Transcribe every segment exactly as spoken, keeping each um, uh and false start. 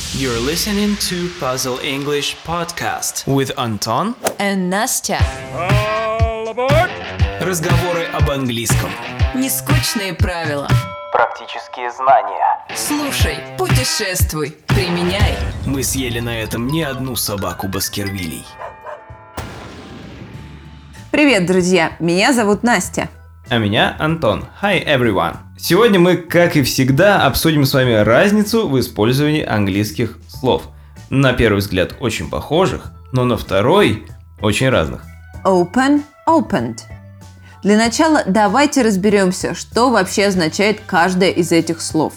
You're listening to Puzzle English Podcast with Антон and Настя. All aboard! Разговоры об английском. Нескучные правила. Практические знания. Слушай, путешествуй, применяй. Мы съели на этом не одну собаку Баскервилей. Привет, друзья! Меня зовут Настя. А меня Антон. Hi, everyone! Сегодня мы, как и всегда, обсудим с вами разницу в использовании английских слов. На первый взгляд очень похожих, но на второй очень разных. Open, opened. Для начала давайте разберемся, что вообще означает каждое из этих слов.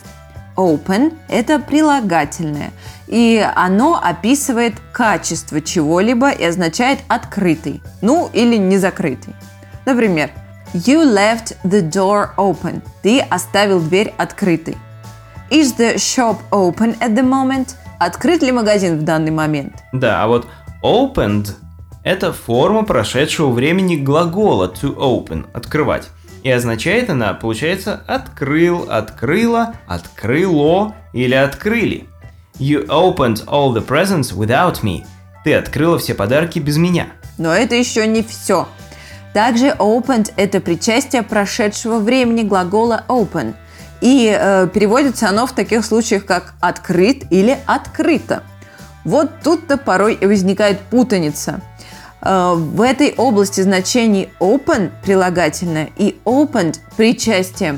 Open – это прилагательное, и оно описывает качество чего-либо и означает открытый, ну или не закрытый. Например, You left the door open. Ты оставил дверь открытой. Is the shop open at the moment? Открыт ли магазин в данный момент? Да, а вот opened – это форма прошедшего времени глагола to open – открывать. И означает она, получается, открыл, открыла, открыло или открыли. You opened all the presents without me. Ты открыла все подарки без меня. Но это еще не все. Также opened – это причастие прошедшего времени глагола open. И э, переводится оно в таких случаях, как открыт или открыто. Вот тут-то порой и возникает путаница. Э, в этой области значений open – прилагательное и opened – причастие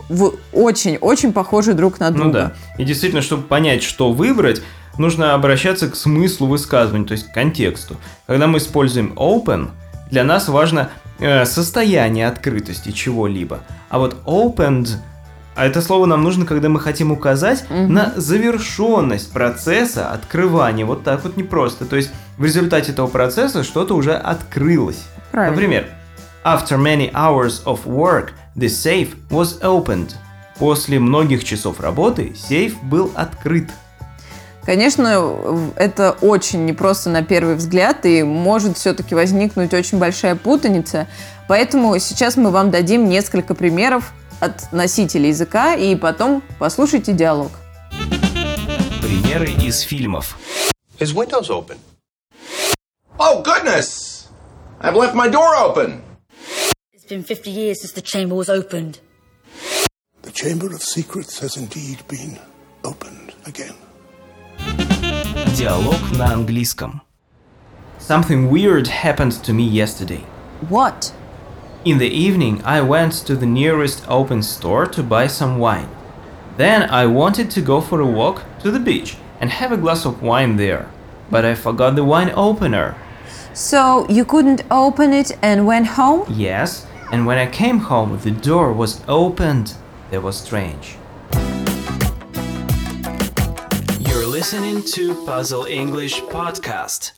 очень-очень похожи друг на друга. Ну да. И действительно, чтобы понять, что выбрать, нужно обращаться к смыслу высказывания, то есть к контексту. Когда мы используем open – для нас важно э, состояние открытости чего-либо. А вот opened, а это слово нам нужно, когда мы хотим указать mm-hmm. на завершенность процесса открывания. Вот так вот непросто. То есть в результате этого процесса что-то уже открылось. Правильно. Например, After many hours of work, the safe was opened. После многих часов работы сейф был открыт. Конечно, это очень непросто на первый взгляд, и может все-таки возникнуть очень большая путаница. Поэтому сейчас мы вам дадим несколько примеров от носителя языка, и потом послушайте диалог. Примеры из фильмов. His window's open. Oh, goodness! I've left my door open. It's been fifty years since the chamber was opened. The Chamber of Secrets has indeed been opened again. Диалог на английском. Something weird happened to me yesterday. What? In the evening, I went to the nearest open store to buy some wine. Then I wanted to go for a walk to the beach and have a glass of wine there. But I forgot the wine opener. So you couldn't open it and went home? Yes, and when I came home, the door was opened. That was strange. You're listening to Puzzle English Podcast.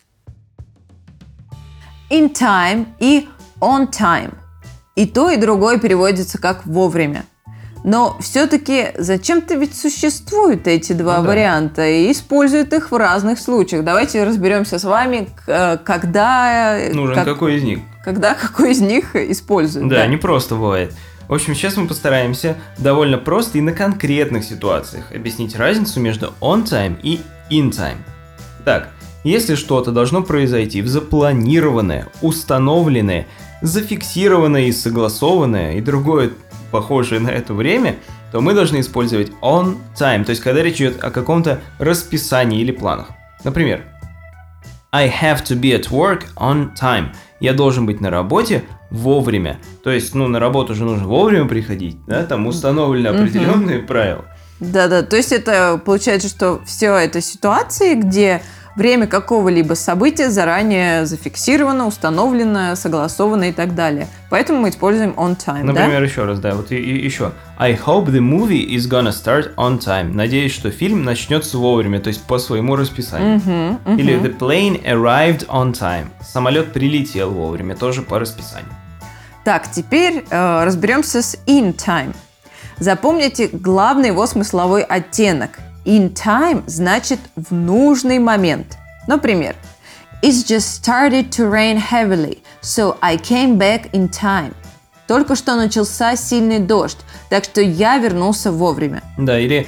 In time и on time. И то, и другое переводится как вовремя. Но все-таки зачем-то ведь существуют эти два ну, да. варианта и используют их в разных случаях. Давайте разберемся с вами, когда... Нужен как, какой из них. Когда какой из них используют. Да, да. не просто бывает. В общем, сейчас мы постараемся довольно просто и на конкретных ситуациях объяснить разницу между on time и in time. Так, если что-то должно произойти в запланированное, установленное, зафиксированное и согласованное и другое похожее на это время, то мы должны использовать on time, то есть когда речь идет о каком-то расписании или планах. Например, I have to be at work on time. Я должен быть на работе вовремя. То есть, ну, на работу же нужно вовремя приходить, да, там установлены определенные mm-hmm. правила. Да-да, то есть это получается, что все это ситуации, где время какого-либо события заранее зафиксировано, установлено, согласовано и так далее. Поэтому мы используем on time, Например, да? еще раз, да, вот и, и еще. I hope the movie is gonna start on time. Надеюсь, что фильм начнется вовремя, то есть по своему расписанию. Uh-huh, uh-huh. Или the plane arrived on time. Самолет прилетел вовремя, тоже по расписанию. Так, теперь э, разберемся с in time. Запомните главный его смысловой оттенок. In time значит в нужный момент. Например, It's just started to rain heavily, so I came back in time. Только что начался сильный дождь, так что я вернулся вовремя. Да, или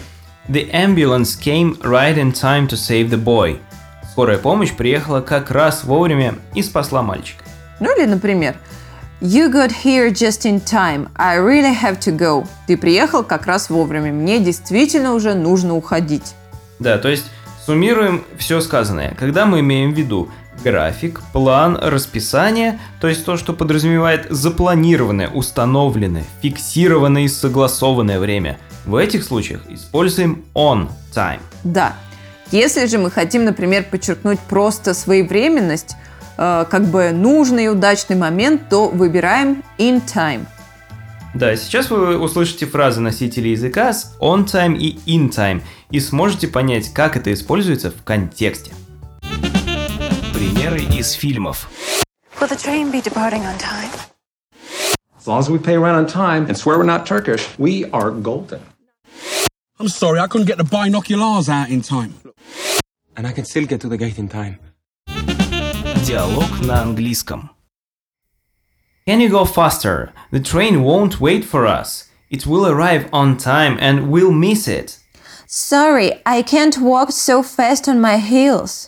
The ambulance came right in time to save the boy. Скорая помощь приехала как раз вовремя и спасла мальчика. Ну или, например, You got here just in time. I really have to go. Ты приехал как раз вовремя. Мне действительно уже нужно уходить. Да, то есть суммируем все сказанное. Когда мы имеем в виду график, план, расписание, то есть то, что подразумевает запланированное, установленное, фиксированное и согласованное время, в этих случаях используем on time. Да. Если же мы хотим, например, подчеркнуть просто своевременность, э, как бы нужный и удачный момент, то выбираем in time. Да, сейчас вы услышите фразы носителей языка с on time и in time и сможете понять, как это используется в контексте. Примеры из фильмов. Will the train be departing on time? As long as we pay rent on time and swear we're not Turkish, we are golden. I'm sorry, I couldn't get the binoculars out in time. And I can still get to the gate in time. Диалог на английском. Can you go faster? The train won't wait for us. It will arrive on time and we'll miss it. Sorry, I can't walk so fast on my heels.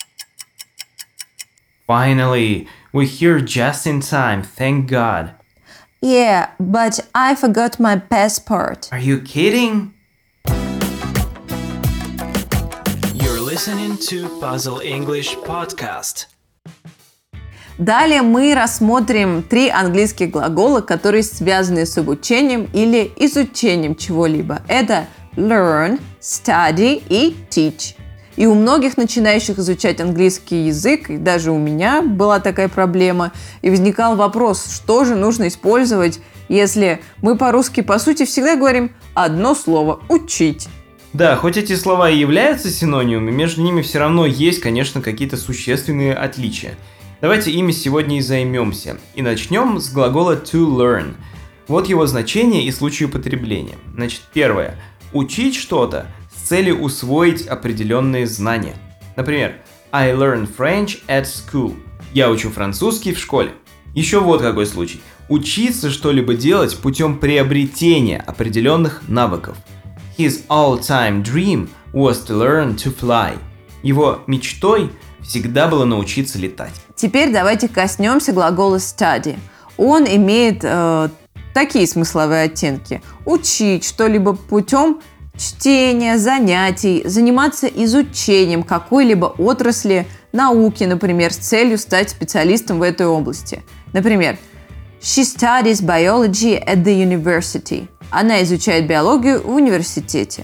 Finally, we're here just in time, thank God. Yeah, but I forgot my passport. Are you kidding? You're listening to Puzzle English Podcast. Далее мы рассмотрим три английских глагола, которые связаны с обучением или изучением чего-либо. Это learn, study и teach. И у многих начинающих изучать английский язык, и даже у меня была такая проблема, и возникал вопрос, что же нужно использовать, если мы по-русски, по сути, всегда говорим одно слово – учить. Да, хоть эти слова и являются синонимами, между ними все равно есть, конечно, какие-то существенные отличия. Давайте ими сегодня и займемся. И начнем с глагола to learn. Вот его значение и случай употребления. Значит, первое. Учить что-то с целью усвоить определенные знания. Например, I learn French at school. Я учу французский в школе. Еще вот какой случай. Учиться что-либо делать путем приобретения определенных навыков. His all-time dream was to learn to fly. Его мечтой всегда было научиться летать. Теперь давайте коснемся глагола study. Он имеет э, такие смысловые оттенки. Учить что-либо путем чтения, занятий, заниматься изучением какой-либо отрасли науки, например, с целью стать специалистом в этой области. Например, She studies biology at the university. Она изучает биологию в университете.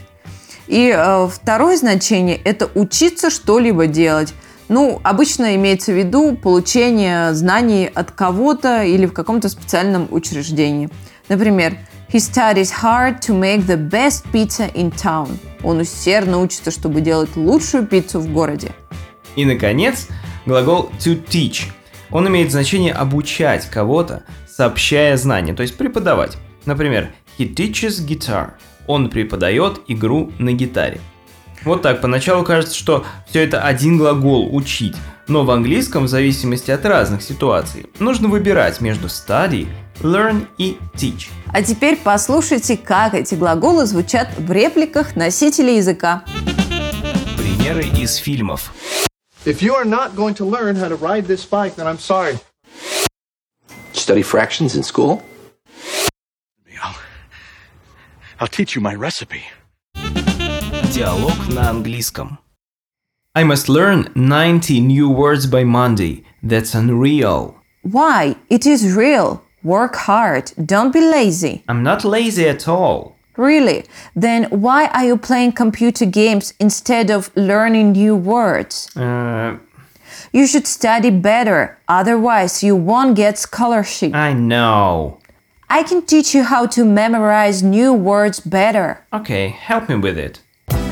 И э, второе значение – это учиться что-либо делать. Ну, обычно имеется в виду получение знаний от кого-то или в каком-то специальном учреждении. Например, He studies hard to make the best pizza in town. Он усердно учится, чтобы делать лучшую пиццу в городе. И, наконец, глагол to teach. Он имеет значение обучать кого-то, сообщая знания, то есть преподавать. Например, He teaches guitar. Он преподает игру на гитаре. Вот так, поначалу кажется, что все это один глагол «учить», но в английском, в зависимости от разных ситуаций, нужно выбирать между study, learn и teach. А теперь послушайте, как эти глаголы звучат в репликах носителей языка. Примеры из фильмов. If you are not going to learn how to ride this bike, then I'm sorry. Study fractions in school? I'll, I'll teach you my recipe. Диалог на английском. I must learn ninety new words by Monday. That's unreal. Why? It is real. Work hard. Don't be lazy. I'm not lazy at all. Really? Then why are you playing computer games instead of learning new words? Uh, You should study better, otherwise you won't get scholarship. I know. I can teach you how to memorize new words better. Okay, help me with it.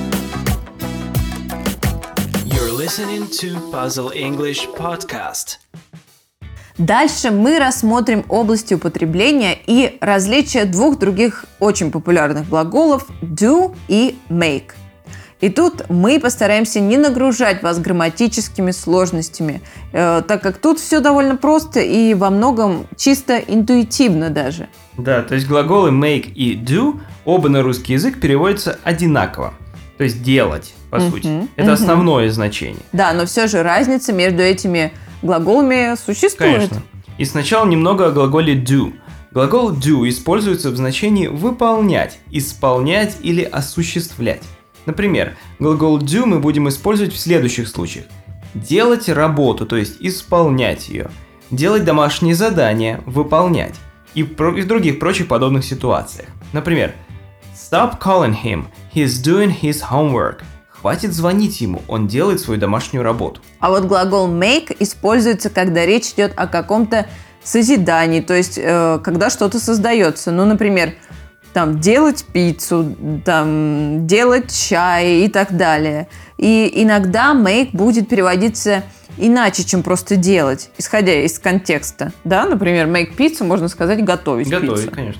You're listening to Puzzle English Podcast. Дальше мы рассмотрим области употребления и различия двух других очень популярных глаголов do и make. И тут мы постараемся не нагружать вас грамматическими сложностями, э, так как тут все довольно просто и во многом чисто интуитивно даже. Да, то есть глаголы make и do оба на русский язык переводятся одинаково. То есть делать, по Мгм, сути. Это мгм. основное значение. Да, но все же разница между этими глаголами существует. Конечно. И сначала немного о глаголе do. Глагол do используется в значении выполнять, исполнять или осуществлять. Например, глагол do мы будем использовать в следующих случаях. Делать работу, то есть исполнять ее. Делать домашние задания, выполнять. И, про- и в других прочих подобных ситуациях. Например, Stop calling him, he's doing his homework. Хватит звонить ему, он делает свою домашнюю работу. А вот глагол make используется, когда речь идет о каком-то созидании, то есть э, когда что-то создается. Ну, например, там делать пиццу, там делать чай и так далее. И иногда make будет переводиться иначе, чем просто делать, исходя из контекста. Да, например, make pizza можно сказать готовить, Готовить, пиццу. конечно.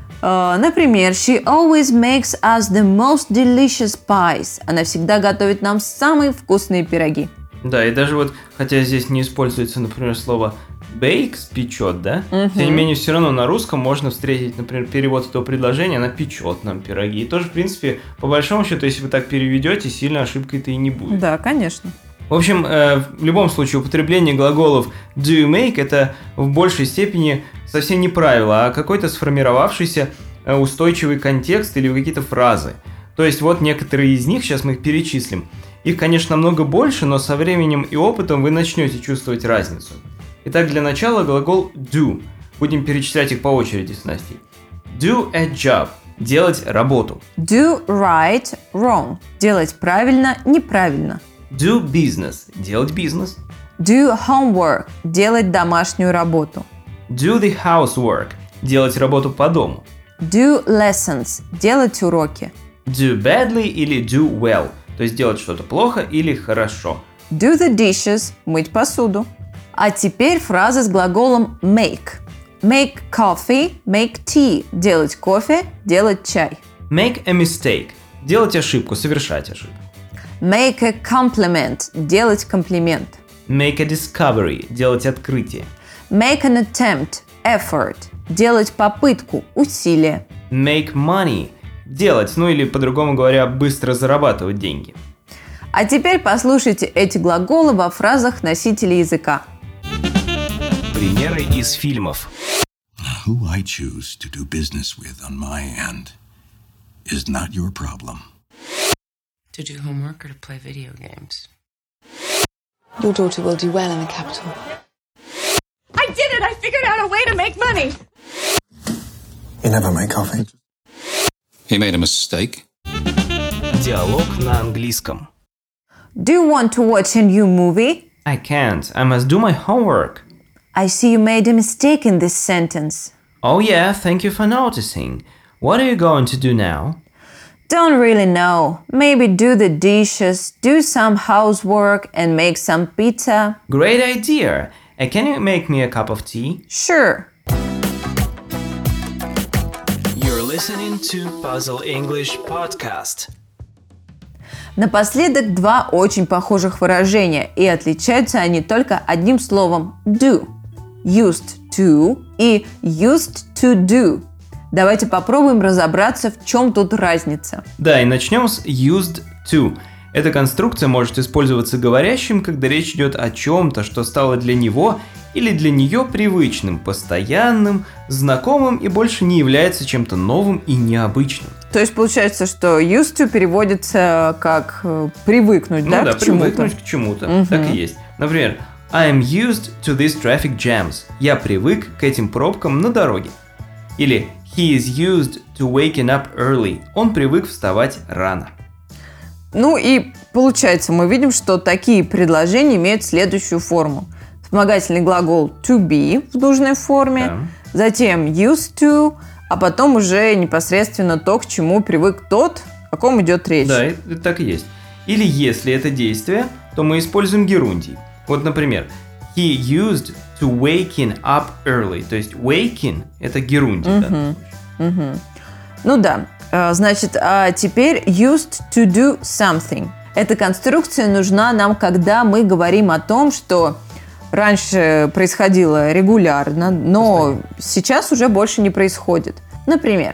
Uh, например, she always makes us the most delicious pies. Она всегда готовит нам самые вкусные пироги. Да, и даже вот, хотя здесь не используется, например, слово bake, печет, да? Мгм. Тем не менее, все равно на русском можно встретить, например, перевод этого предложения, она печет нам пироги. И тоже, в принципе, по большому счету, если вы так переведете, сильно ошибкой-то и не будет. Да, конечно. В общем, э, в любом случае, употребление глаголов do и make это в большей степени совсем не правило, а какой-то сформировавшийся э, устойчивый контекст или какие-то фразы. То есть вот некоторые из них, сейчас мы их перечислим. Их, конечно, намного больше, но со временем и опытом вы начнете чувствовать разницу. Итак, для начала глагол do. Будем перечислять их по очереди с Настей. Do a job. Делать работу. Do right, wrong. Делать правильно, неправильно. Do business. Делать бизнес. Do homework. Делать домашнюю работу. Do the housework. Делать работу по дому. Do lessons. Делать уроки. Do badly или do well. То есть делать что-то плохо или хорошо. Do the dishes. Мыть посуду. А теперь фразы с глаголом make. Make coffee, make tea. Делать кофе, делать чай. Make a mistake. Делать ошибку, совершать ошибку. Make a compliment. Делать комплимент. Make a discovery. Делать открытие. Make an attempt. Effort. Делать попытку, усилие. Make money. Делать, ну или по-другому говоря, быстро зарабатывать деньги. А теперь послушайте эти глаголы во фразах носителей языка. Примеры из фильмов. Who I choose to do business with on my end is not your problem. To do homework or to play video games? Your daughter will do well in the capital. I did it! I figured out a way to make money! You never make coffee. He made a mistake. Диалог на английском. Do you want to watch a new movie? I can't. I must do my homework. I see you made a mistake in this sentence. Oh yeah, thank you for noticing. What are you going to do now? Don't really know. Maybe do the dishes, do some housework and make some pizza. Great idea. Uh, can you make me a cup of tea? Sure. You're listening to Puzzle English Podcast. Напоследок два очень похожих выражения, и отличаются они только одним словом do. Used to и used to do. Давайте попробуем разобраться, в чем тут разница. Да, и начнем с used to. Эта конструкция может использоваться говорящим, когда речь идет о чем-то, что стало для него или для нее привычным, постоянным, знакомым и больше не является чем-то новым и необычным. То есть получается, что used to переводится как э, привыкнуть, ну да, да, к чему-то? привыкнуть к чему-то. Мгм. Так и есть. Например, I am used to these traffic jams. Я привык к этим пробкам на дороге. Или He is used to waking up early. Он привык вставать рано. Ну и получается, мы видим, что такие предложения имеют следующую форму. Вспомогательный глагол to be в нужной форме, Да. затем used to, а потом уже непосредственно то, к чему привык тот, о ком идет речь. Да, это так и есть. Или если это действие, то мы используем герундий. Вот, например, He used to waking up early. То есть waking – это герундий. Мгм. Да? Мгм. Ну да, Э, значит, а теперь used to do something. Эта конструкция нужна нам, когда мы говорим о том, что раньше происходило регулярно, но сейчас уже больше не происходит. Например,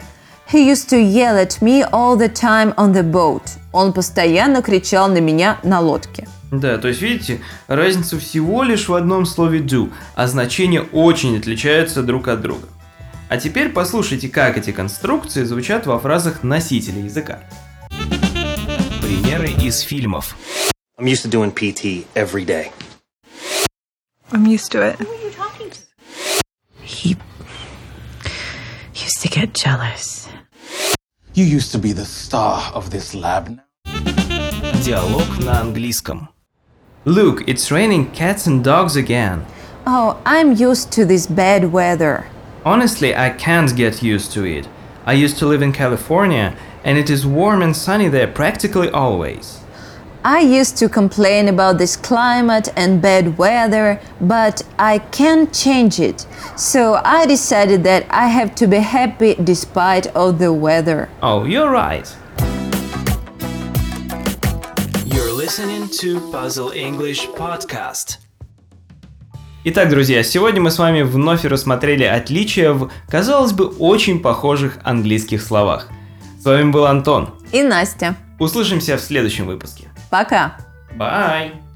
He used to yell at me all the time on the boat. Он постоянно кричал на меня на лодке. Да, то есть, видите, разница всего лишь в одном слове do, а значения очень отличаются друг от друга. А теперь послушайте, как эти конструкции звучат во фразах носителя языка. Примеры из фильмов. I'm used to doing P T every day. I'm used to it. Who are you talking to? He used to get jealous. You used to be the star of this lab now. Диалог на английском. Look, it's raining cats and dogs again. Oh, I'm used to this bad weather. Honestly, I can't get used to it. I used to live in California, and it is warm and sunny there practically always. I used to complain about this climate and bad weather, but I can't change it. So I decided that I have to be happy despite of the weather. Oh, you're right. You're listening to Puzzle English Podcast. Итак, друзья, сегодня мы с вами вновь рассмотрели отличия в, казалось бы, очень похожих английских словах. С вами был Антон И Настя. Услышимся в следующем выпуске. Пока. Bye!